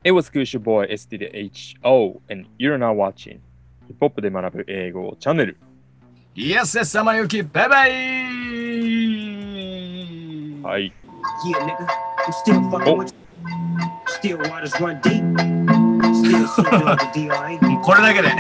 It was Kush Boy STDHO and you're now watching ヒップホップで学ぶ英語チャンネル。 Yes, yes, さまゆき、バイバイ。 はい。 Yeah, nigga, I'm still fucking with you. Still waters run deep. Still sipping on the DRA. これだけで。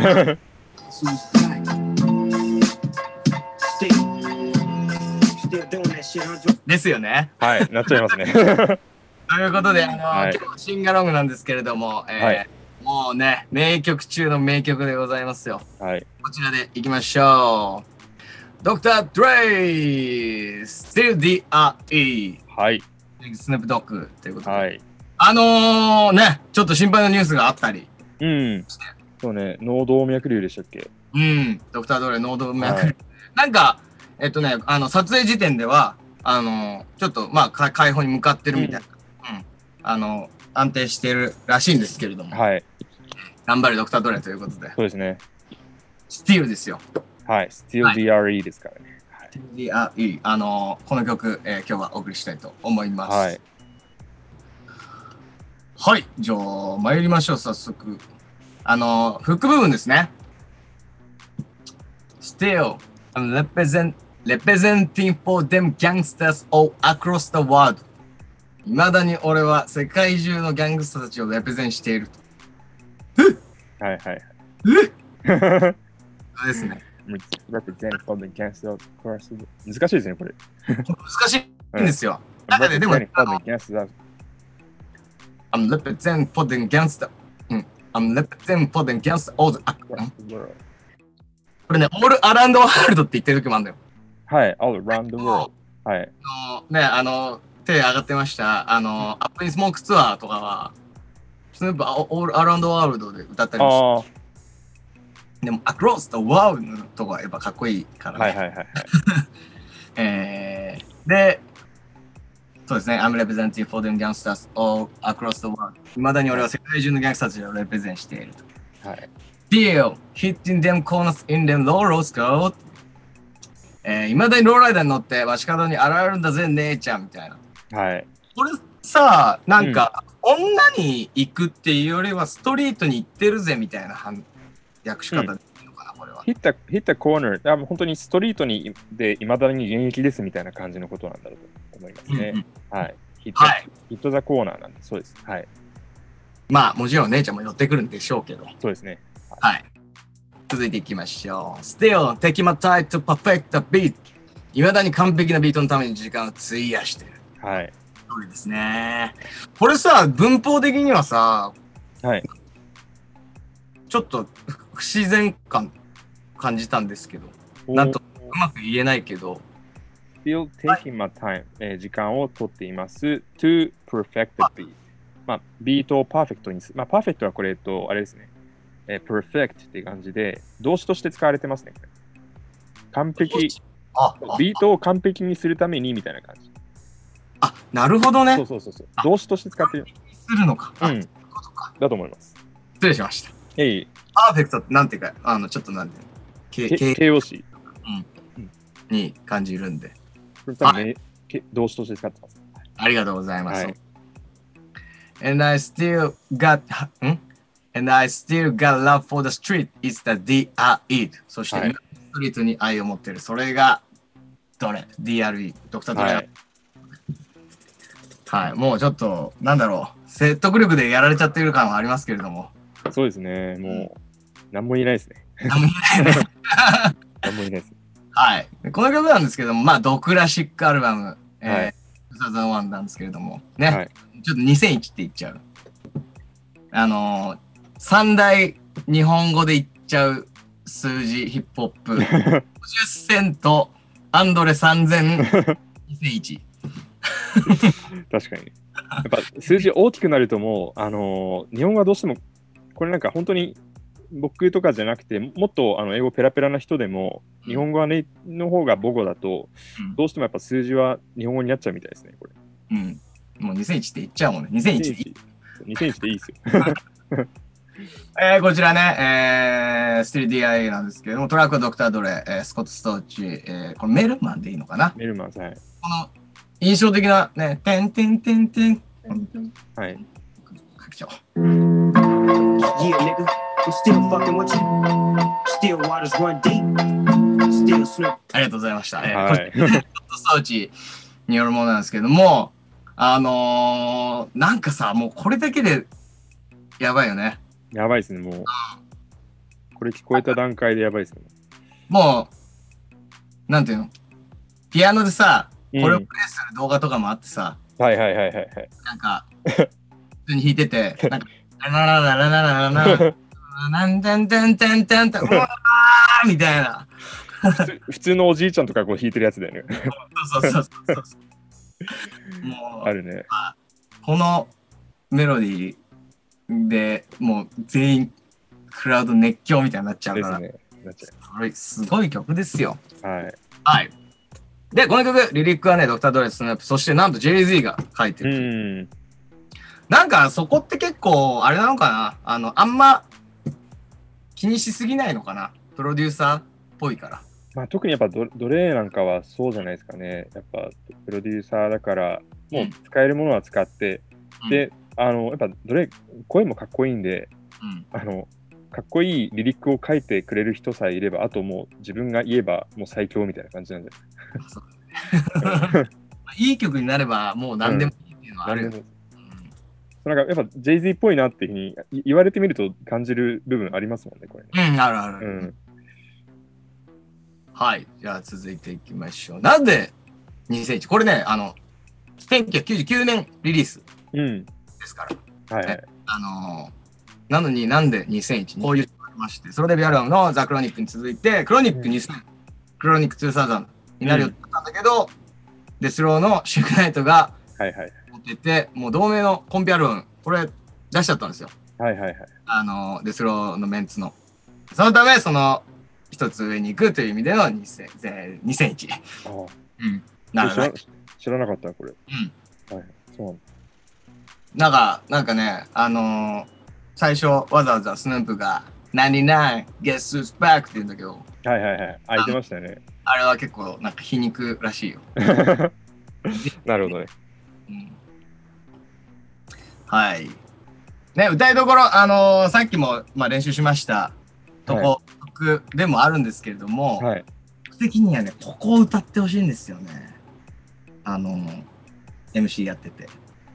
ですよね。 はい、なっちゃいますね。 ということで、今日シンガロングなんですけれども、もうね、名曲中の名曲でございますよ。 はい。 こちらでいきましょう。ドクター・ドレイ、Still D.R.E. はい。 スネープドッグということで。 はい。 ね、ちょっと心配なニュースがあったり。 うん。そうね、脳動脈瘤でしたっけ？ うん、ドクター・ドレイ、脳動脈瘤。なんか、撮影時点では、ちょっと、まあ、解放に向かってるみたいな。安定してるらしいんですけれども。 はい。 頑張れ、ドクター・ドレイということで。 そうですね。 Still ですよ。 はい。Still DRE ですからね。 DRE。この曲、今日はお送りしたいと思います。 はい。 はい。じゃあ、参りましょう、早速。フック部分ですね。Still, I'm representing for them gangsters all across the world. いまだに俺は世界中のギャングスターたちをレプゼンしていると。 はいはいはい。 そうですね。 represent for the gangsters across the world. 難しいですね、これ。 難しいんですよ。だからでも、 I'm represent for the gangsters. I'm represent for the gangsters all across the world. これね、all around the world って言ってる時もあるんだよ。 はい、all around the world。はい。 ね、手上がってました。アップインスモークツアーとかは、スヌープオールアラウンドワールドで歌ったりもして。でも、アクロスとワールドのとこはやっぱかっこいいからね。 はいはいはい、 はい。で、そうですね。I'm representing for them gangsters all across the world. いまだに俺は世界中のギャングスターたちをレプゼンしていると。 はい。 Deal, hitting them corners in them low road scout. いまだにローライダーに乗って街角に現れるんだぜ、姉ちゃんみたいな。 はい。 これさ、なんか、女に行くっていうよりはストリートに行ってるぜみたいな訳し方でいいのかな、これは。 ヒッタコーナー、本当にストリートにでいまだに現役ですみたいな感じのことなんだろうと思いますね。はい。ヒットザコーナーなんで、そうです。はい。 まあ、もちろん姉ちゃんも寄ってくるんでしょうけど。 そうですね。 はい。続いていきましょう。Still, take my time to perfect the beat. いまだに完璧なビートのために時間を費やしてる。 はい。 そうですね。これさ、文法的にはさ、 はい。 ちょっと不自然感じたんですけど、なんとうまく言えないけど。 Still taking my time、時間を取っています。to perfect the beat。まあ、ビートをパーフェクトにする。まあ、パーフェクトはこれあれですね。perfect っていう感じで、動詞として使われてますね。完璧。ビートを完璧にするためにみたいな感じ。 あ、なるほどね。 そう。動詞として使ってる。 するのか。 うん。だと思います。 失礼しました。パーフェクトってなんていうか、ちょっとなんて形容詞に感じるんで。 動詞として使ってます。 ありがとうございます。And I still got love for the street is the DRE。そして、ストリートに愛を持っている。それが、DRE。ドクタードレイ。はい。もうちょっと、なんだろう。説得力でやられちゃっている感はありますけれども。 そうですね。もう、何も言えないですね。 何も言えないね。 何も言えないです。はい。 この曲なんですけども、まあ、ドクラシックアルバム、2001なんですけれども、ね。ちょっと2001って言っちゃう。三大日本語で言っちゃう数字ヒップホップ。50セント、アンドレ3000、2001。 確かに。やっぱ数字大きくなるともう、日本語はどうしても、これなんか本当に僕とかじゃなくて、もっと英語ペラペラな人でも、日本語の方が母語だと、どうしてもやっぱ数字は日本語になっちゃうみたいですね、これ。 うん。もう2001って言っちゃうもんね。2001でいい。 2001でいいですよ。 こちらね、Still DIA なんですけども、トラックはドクタードレ、スコット・ストーチ、これメルマンでいいのかな？ メルマン、はい。 この印象的なね、てんてんてんてん。 はい。 かましょう。 Yeah, nigga, I'm still fucking with you. Still waters run deep. Still Snoop. ありがとうございました。 はい。 これ装置によるものなんですけども、なんかさ、もうこれだけでやばいよね。 やばいですね、もう。これ聞こえた段階でやばいですね。 もう、なんていうの、ピアノでさ、これをうんプレイする動画とかもあってさ、 はいはいはいはいはい。 なんか、普通に弾いてて、なんか、ラララララララララなんてんてんてんてんてん、うわーみたいな。 普通のおじいちゃんとかこう弾いてるやつだよね。 そうそうそうそうそう。もう、 あるね。 このメロディーでもう全員クラウド熱狂みたいになっちゃうから、 ですね。なっちゃこれすごい曲ですよ。 う。はい。 はい。で、この曲、リリックはね、ドクター・ドレス・スナップ、そしてなんと Jay-Z が書いてうる。 ん。 なんかそこって結構、あれなのかな、あんま気にしすぎないのかな、プロデューサーっぽいから。 まあ、特にやっぱドレーなんかはそうじゃないですかね。やっぱプロデューサーだから、もう使えるものは使って、で、やっぱドレー、声もかっこいいんで、かっこいいリリックを書いてくれる人さえいれば、あともう自分が言えばもう最強みたいな感じなんで。 いい曲になればもう何でもいいっていうのはあるよね。 なんかやっぱ Jay-Z っぽいなっていうふうに言われてみると感じる部分ありますもんね、これね。 うん、あるある。はい。じゃあ続いていきましょう。なんで2001？これね、1999年リリースですから。 はいはい。 なのになんで2001？こういうのがありまして、ソロデビューアルバムのザ・クロニックに続いて、クロニック2000、クロニック2000になるよって言ったんだけど、デスローのシュークナイトが持ってて、もう同名のコンピアルバム、これ出しちゃったんですよ。 はいはいはい。 デスローのメンツの。そのため、その、一つ上に行くという意味での2001。 知らなかった、これ。はい、そうなんかね、最初わざわざスヌープが99 Guess Who's Back って言うんだけど、 はいはいはい、開いてましたね。 あれは結構なんか皮肉らしいよ。 なるほどね。 はい。ね、歌いどころ、さっきも、まあ、練習しました曲でもあるんですけれども、僕的にはね、ここを歌ってほしいんですよね。MC やってて。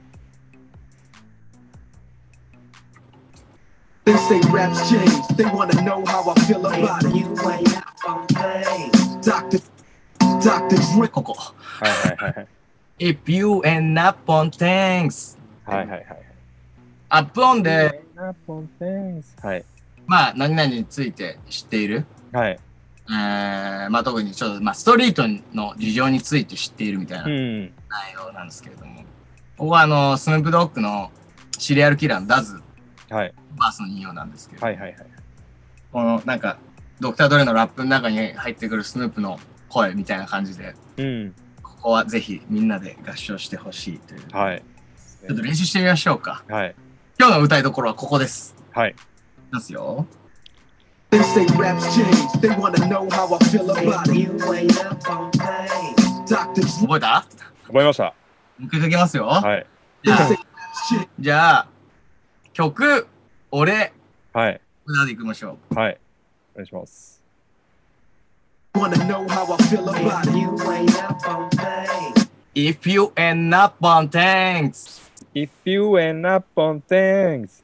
They say raps change. They wanna know how I feel about it. You ain't up on things. Dr. Dre. ここ。 はいはいはい。 If you ain't up on things. はいはいはい。 アップオンで、 はい。 まあ、何々について知っている。 はい。 まあ、特にちょっと、まあ、ストリートの事情について知っているみたいな内容なんですけれども、ここはスヌープドッグのシリアルキラーのダズ。バースの引用なんですけど、このなんかドクター・ドレのラップの中に入ってくるスヌープの声みたいな感じで、ここはぜひみんなで合唱してほしいという、ちょっと練習してみましょうか。今日の歌いどころはここです。いますよ。 They say raps change. They wanna know how I feel about it. You ain't up on things. Dr. Dre. 覚えた？ 覚えました。 もう一回かけますよ。 They say raps change. じゃあ曲、俺、 歌でいきましょう。はい。お願いします。 Wanna know how I feel about it. You ain't up on things. If you ain't up on things. If you ain't up on things.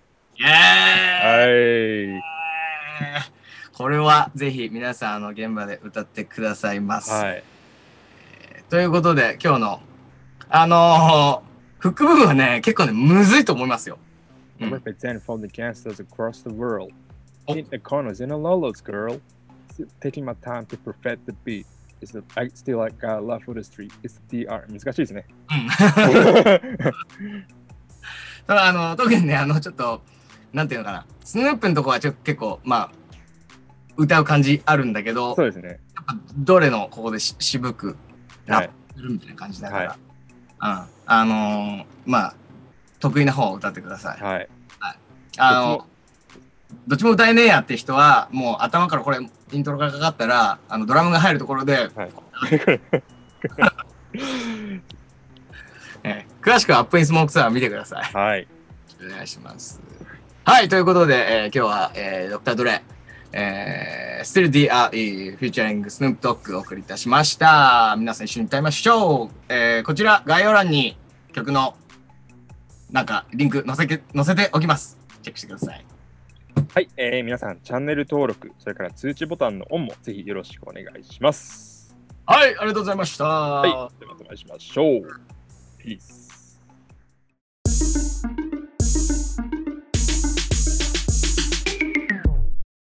はい。 これはぜひ皆さん現場で歌ってくださいます。ということで今日のフック部分はね結構ねむずいと思いますよ。 Represent from the gangsters across the world. In the corners in a lolos, girl. Taking my time to perfect the beat. I still got love for the street. It's the DR. 難しいですね。 特にねちょっとなんていうのかな、スヌープのとこは結構まあ歌う感じあるんだけど、 そうですね。 やっぱどれのここで渋くラップするみたいな感じだから、まあ得意な方を歌ってください。どっちも歌えねえやって人はもう頭からこれイントロがかかったらドラムが入るところで、詳しくはアップインスモークツアー見てください。 お願いします。はい、ということで、今日は、ドクター・ドレ、Still D.R.E. フューチャリングスヌープドッグをお送りいたしました。皆さん一緒に歌いましょう。こちら概要欄に曲のなんかリンク載せておきます。チェックしてください。 はい、皆さんチャンネル登録、それから通知ボタンのオンもぜひよろしくお願いします。 はい、ありがとうございました。 はい、ではまたお会いしましょう。ピース。